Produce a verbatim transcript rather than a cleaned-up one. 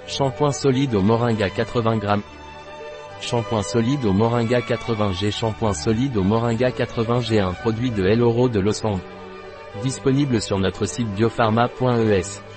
Shampoing solide au moringa quatre-vingts grammes. Shampoing solide au moringa quatre-vingts G. Shampoing solide au moringa quatre-vingts G. Un produit de El Oro de Los Angeles. Disponible sur notre site biopharma point E S.